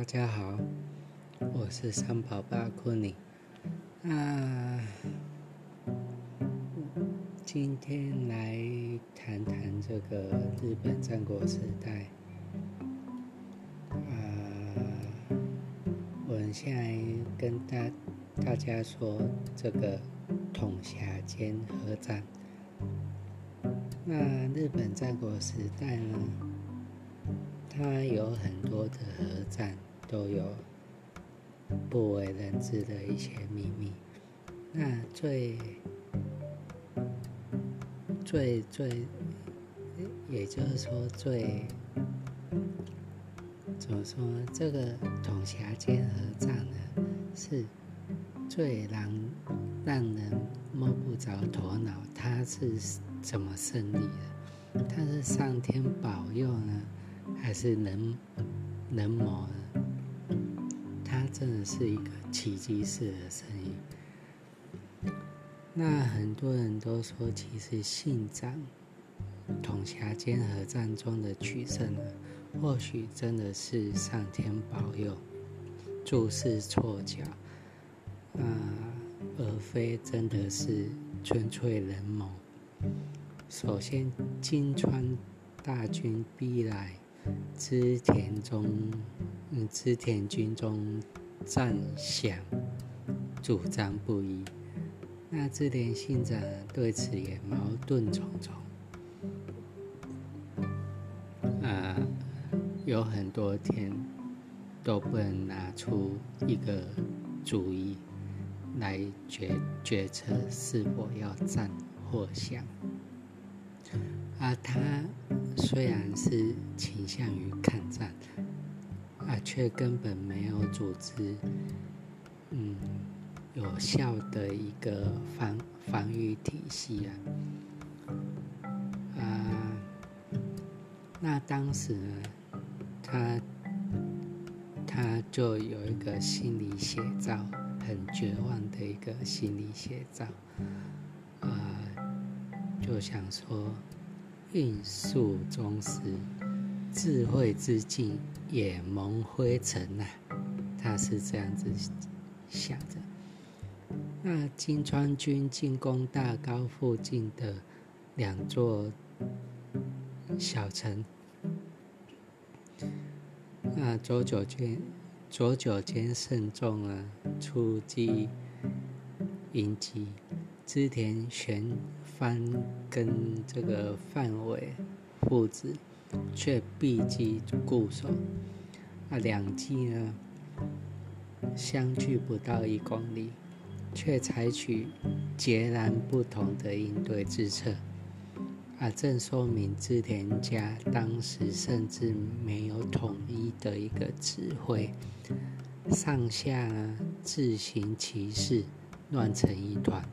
大家好，我是三宝爸库尼。今天来谈谈这个日本战国时代。我现在跟大家说这个统辖间合战。那日本战国时代呢，它有很多的合战，都有不为人知的一些秘密。那也就是说怎么说呢？这个统辖间合战呢，是最让人摸不着头脑，它是怎么胜利的？它是上天保佑呢，还是人谋呢？它真的是一个奇迹式的胜利。那很多人都说，其实信长统辖间合战中的取胜呢，或许真的是上天保佑、注视错脚，而非真的是纯粹人谋。首先，金川大军逼来织田军中战饷主张不一。那织田信长对此也矛盾重重，有很多天都不能拿出一个主意来决策是否要战或降。他虽然是倾向于抗战，却根本没有组织有效的一个防御体系那当时呢，他就有一个心理写照，很绝望的一个心理写照，就想说运数终时，智慧之境也蒙灰尘他是这样子想着。那金川军进攻大高附近的两座小城，佐久间慎重出击迎击，织田玄蕃跟这个范伟父子却避机固守，两骑呢相距不到1公里，却采取截然不同的应对之策，正说明织田家当时甚至没有统一的一个指挥，上下呢自行其事，乱成一团。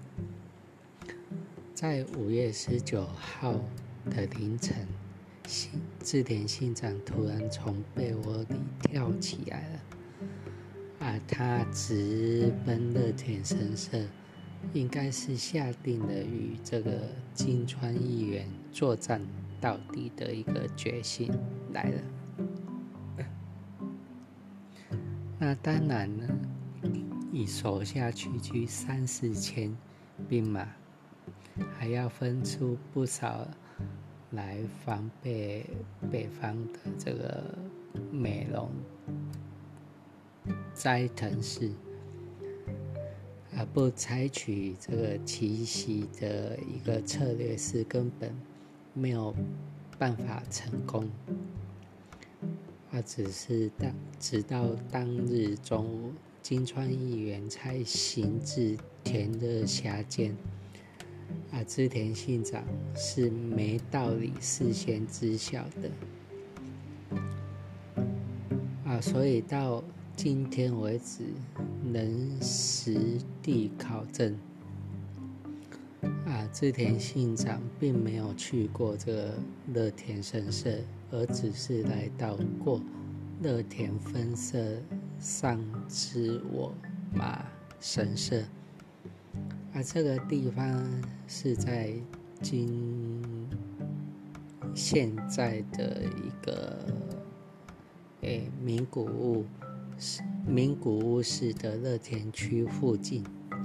在5月19号的凌晨，织田信长突然从被窝里跳起来了，他直奔乐田神社，应该是下定了与这个金川议员作战到底的一个决心来了。那当然呢，以手下区区3-4千兵马，还要分出不少来防备北方的这个美浓斋藤氏，不采取这个奇袭的一个策略是根本没有办法成功。只是直到当日中午，金川议员才行至田乐辖间，织田信长是没道理事先知晓的，所以到今天为止能实地考证，织田信长并没有去过这个乐田神社，而只是来到过乐田分社上之我马神社，这个地方是在现在的一个名古屋名古屋市的乐田区附近。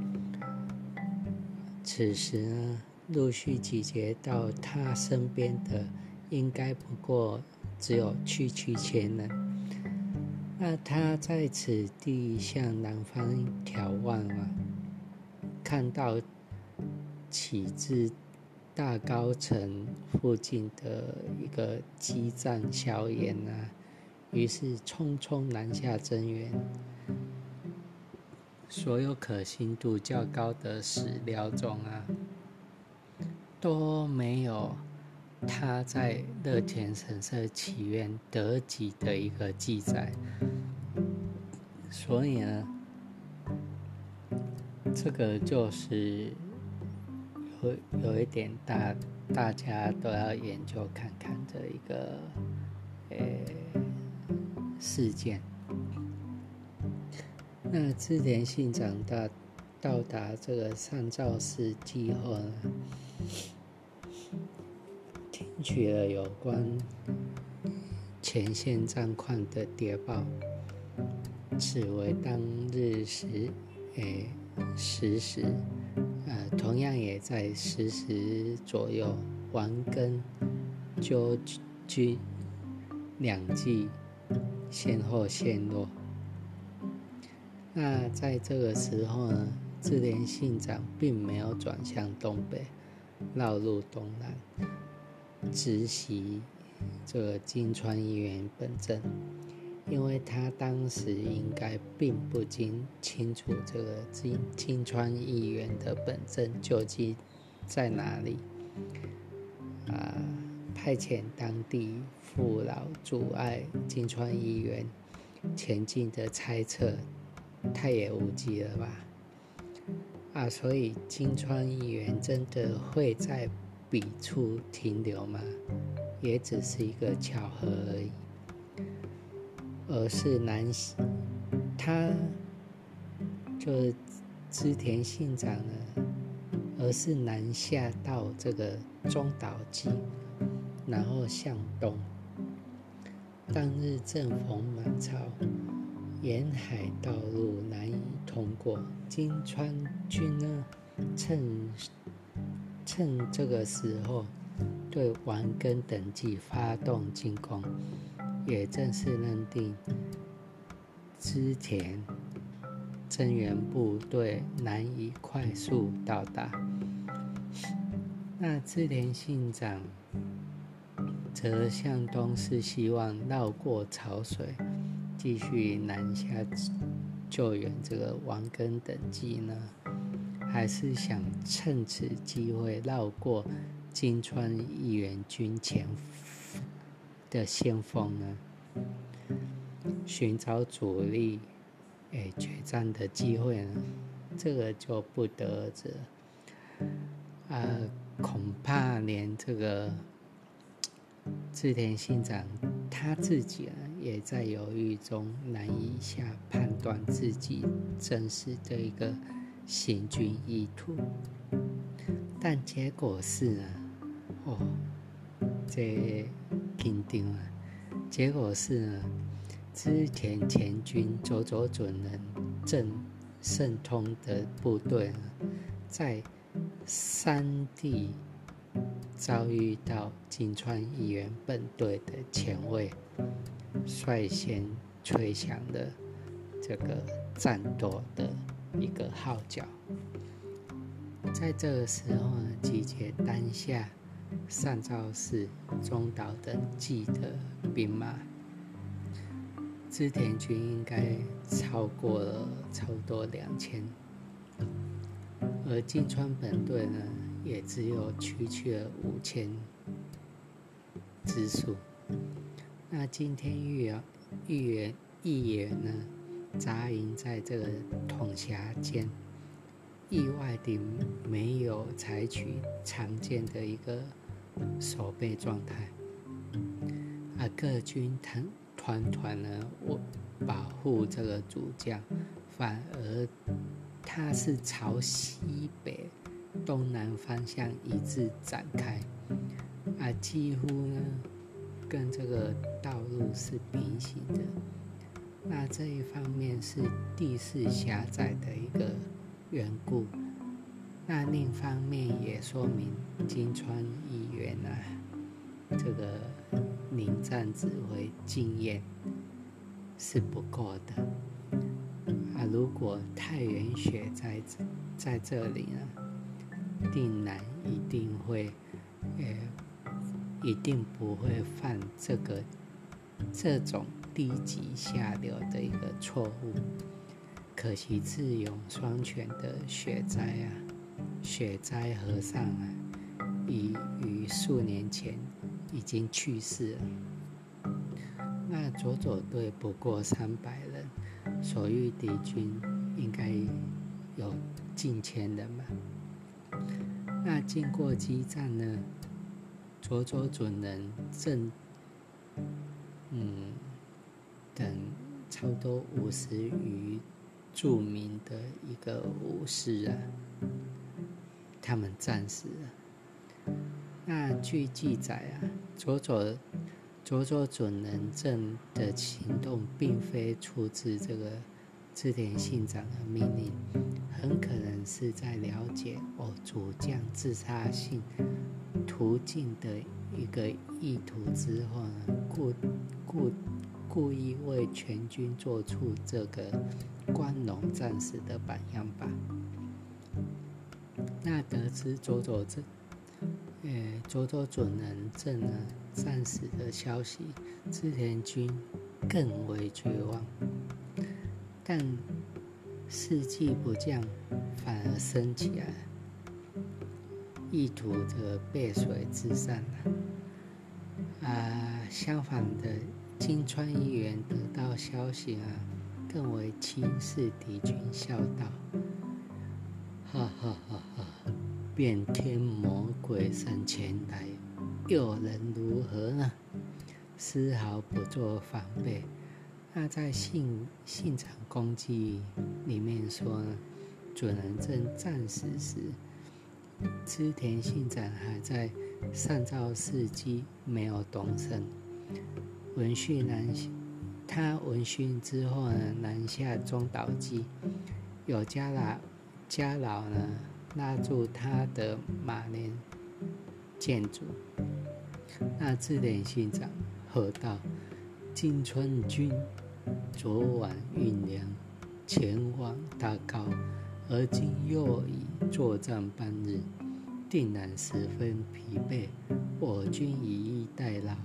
此时呢，陆续集结到他身边的，应该不过只有区千人。那他在此地向南方眺望看到起自大高城附近的一个激战硝烟于是匆匆南下增援。所有可信度较高的史料中都没有他在乐田神社祈愿得吉的一个记载。所以呢，这个就是有一点大家都要研究看看的一个事件。那织田信长到达这个上沼市际后呢，听取了有关前线战况的谍报，此为当日十时，同样也在10时左右，丸跟鸠军两骑先后陷落。那在这个时候呢，织田信长并没有转向东北，绕入东南，直袭这个金川议员本阵，因为他当时应该并不清楚这个金川议员的本阵究竟在哪里，派遣当地父老阻碍金川议员前进的猜测太也无稽了吧？所以金川议员真的会在彼处停留吗？也只是一个巧合而已。而是他就是织田信长呢，而是南下到这个中岛纪，然后向东。当日正逢满潮，沿海道路难以通过，金川军呢，趁这个时候对丸根等地发动进攻，也正是认定织田增援部队难以快速到达。那织田信长则向东是希望绕过潮水，继续南下救援这个丸根等地呢，还是想趁此机会绕过金川议员军前的先锋呢，寻找主力决战的机会呢？这个就不得而知了。恐怕连这个织田信长他自己也在犹豫中，难以下判断自己真实的一个行军意图。但结果是这紧张结果是织田前军佐佐准人正胜通的部队在山地遭遇到金川议员本队的前卫，率先吹响了这个战斗的一个号角。在这个时候呢，集结当下上沼市、中岛等地的兵马，织田军应该超过了差不多2000，而金川本队呢，也只有区区了5000之数。那今天议员呢，扎营在这个统辖间，意外地没有采取常见的一个守备状态，各军团呢，保护这个主将，反而他是朝西北东南方向一致展开，几乎呢跟这个道路是平行的。 那这一方面是地势狭窄的一个缘故，那另一方面也说明金川议员这个临战指挥经验是不够的如果太原雪在这里定南一定不会犯这种低级下流的一个错误。可惜智勇双全的雪灾和尚已于数年前已经去世了。那佐队不过300人，所遇敌军应该有近1000人吧。那经过激战呢，佐准人正等差不多50余著名的一个武士他们战死了。那据记载佐准人正的行动并非出自这个织田信长的命令，很可能是在了解主将自杀性途径的一个意图之后故意为全军做出这个光荣战士的榜样吧。那得知佐准人正战死的消息，织田军更为绝望，但士气不降，反而升起来，意图这个背水自散相反的，金川议员得到消息更为轻视敌军，笑道：哈哈哈哈，变天魔鬼神前来，又能如何呢？丝毫不做防备。那在信长公记里面说准人正战死时，织田信长还在上诏事迹，没有动身。他闻讯之后南下中岛基，有家老拉住他的马连建筑。那织田信长喝道：金川军昨晚运粮前往大高，而今又已作战半日，定然十分疲惫，我军以逸待劳，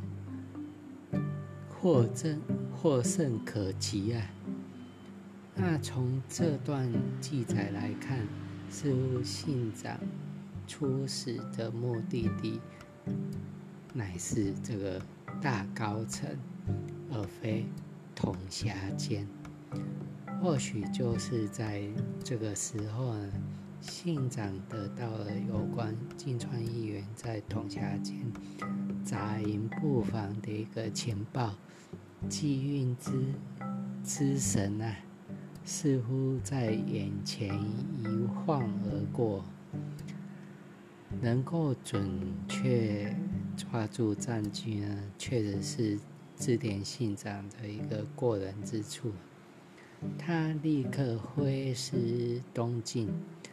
获胜可期那从这段记载来看，似乎信长出使的目的地乃是这个大高城，而非统辖间。或许就是在这个时候信长得到了有关金川议员在统辖间扎营布防的一个情报，机运之神似乎在眼前一晃而过，能够准确抓住战局确实是织田信长的一个过人之处。他立刻挥师东进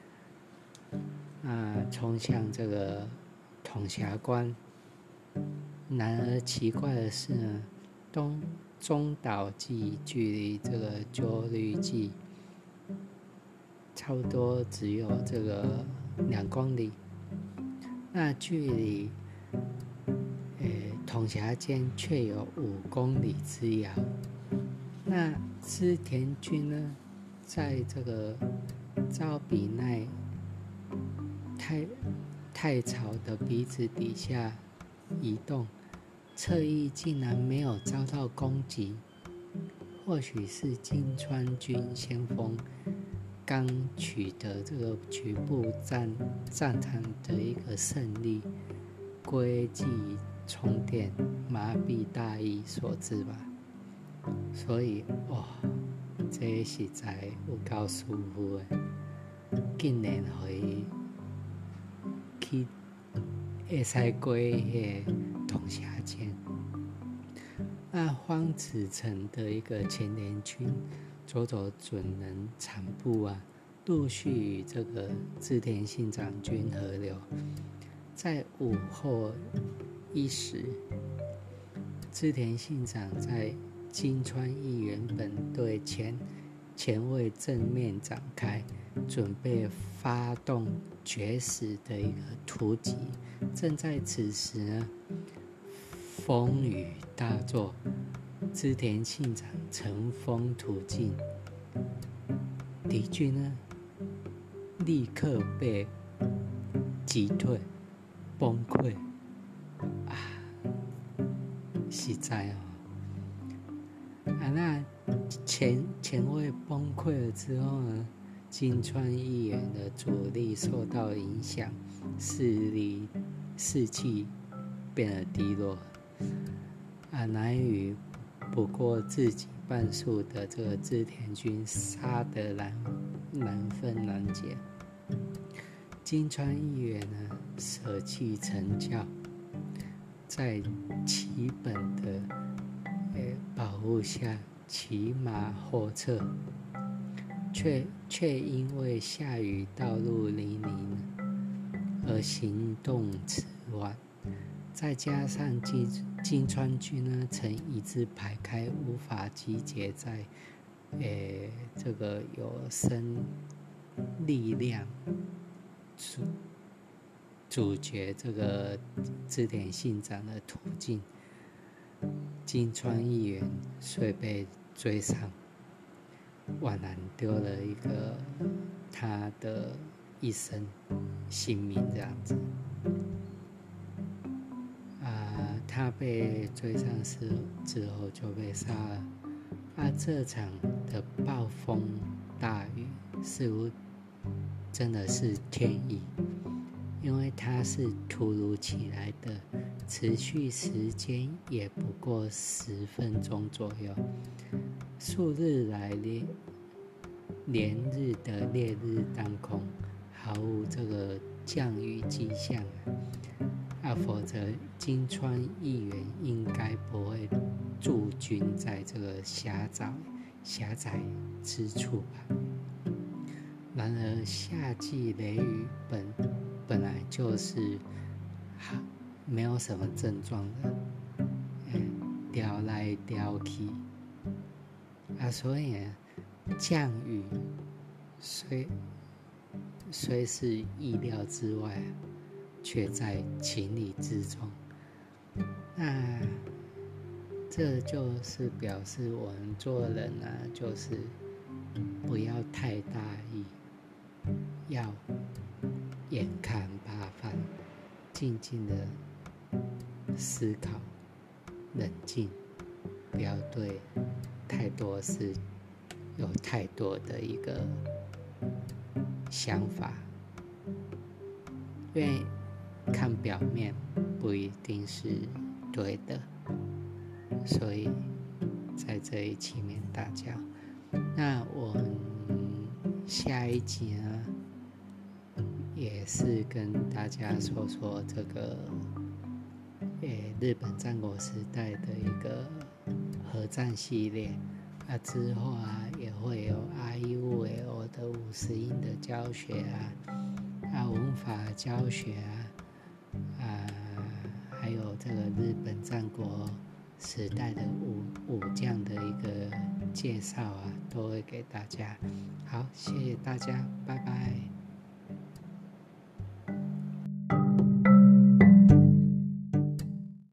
冲向这个统辖关。然而奇怪的是中岛基距离这个鸠律记差不多只有这个2公里，那距离统辖间却有5公里之遥。那织田军在这个招比奈太草的鼻子底下移动，侧翼竟然没有遭到攻击。或许是金川军先锋刚取得这个局部战场的一个胜利，归计充电，麻痹大意所致吧。所以这实在有够舒服的，竟然可以过统辖间。 荒子城的一个前联军佐佐准能产部啊，陆续与这个织田信长军合流。在午后1时，织田信长在金川议员本队前卫正面展开，准备发动决死的一个突击。正在此时呢，风雨大作，织田信长乘风突进，敌军呢立刻被击退崩溃啊！实在那前卫崩溃了之后呢，金川议员的主力受到影响，士气变得低落。难以不过自己半数的这个织田军杀得难分难解。金川议员呢舍弃成教，在齐本的保护下骑马后撤，却因为下雨道路泥泞而行动迟缓，再加上金川军呢曾一字排开，无法集结在这个有生力量阻绝这个织田信长的途径，金川议员遂被追上，宛然丢了一个他的一生性命这样子。他被追上之后就被杀了。这场的暴风大雨似乎真的是天意，因为它是突如其来的，持续时间也不过10分钟左右。数日来连日的烈日当空，毫无这个降雨迹象否则金川议员应该不会驻军在这个狭窄之处吧。然而夏季雷雨本来就是没有什么症状的，撩来撩去所以降雨虽是意料之外，却在情理之中。那这就是表示我们做人就是不要太大意，要眼看八方，静静的思考，冷静，不要对太多事有太多的一个想法，因为看表面不一定是对的，所以在这里期勉大家。那我们下一集呢，也是跟大家说说这个日本战国时代的一个核战系列之后也会有 IUL 的50音的教学文法教学还有这个日本战国时代的武将的一个介绍都会给大家。好，谢谢大家，拜拜。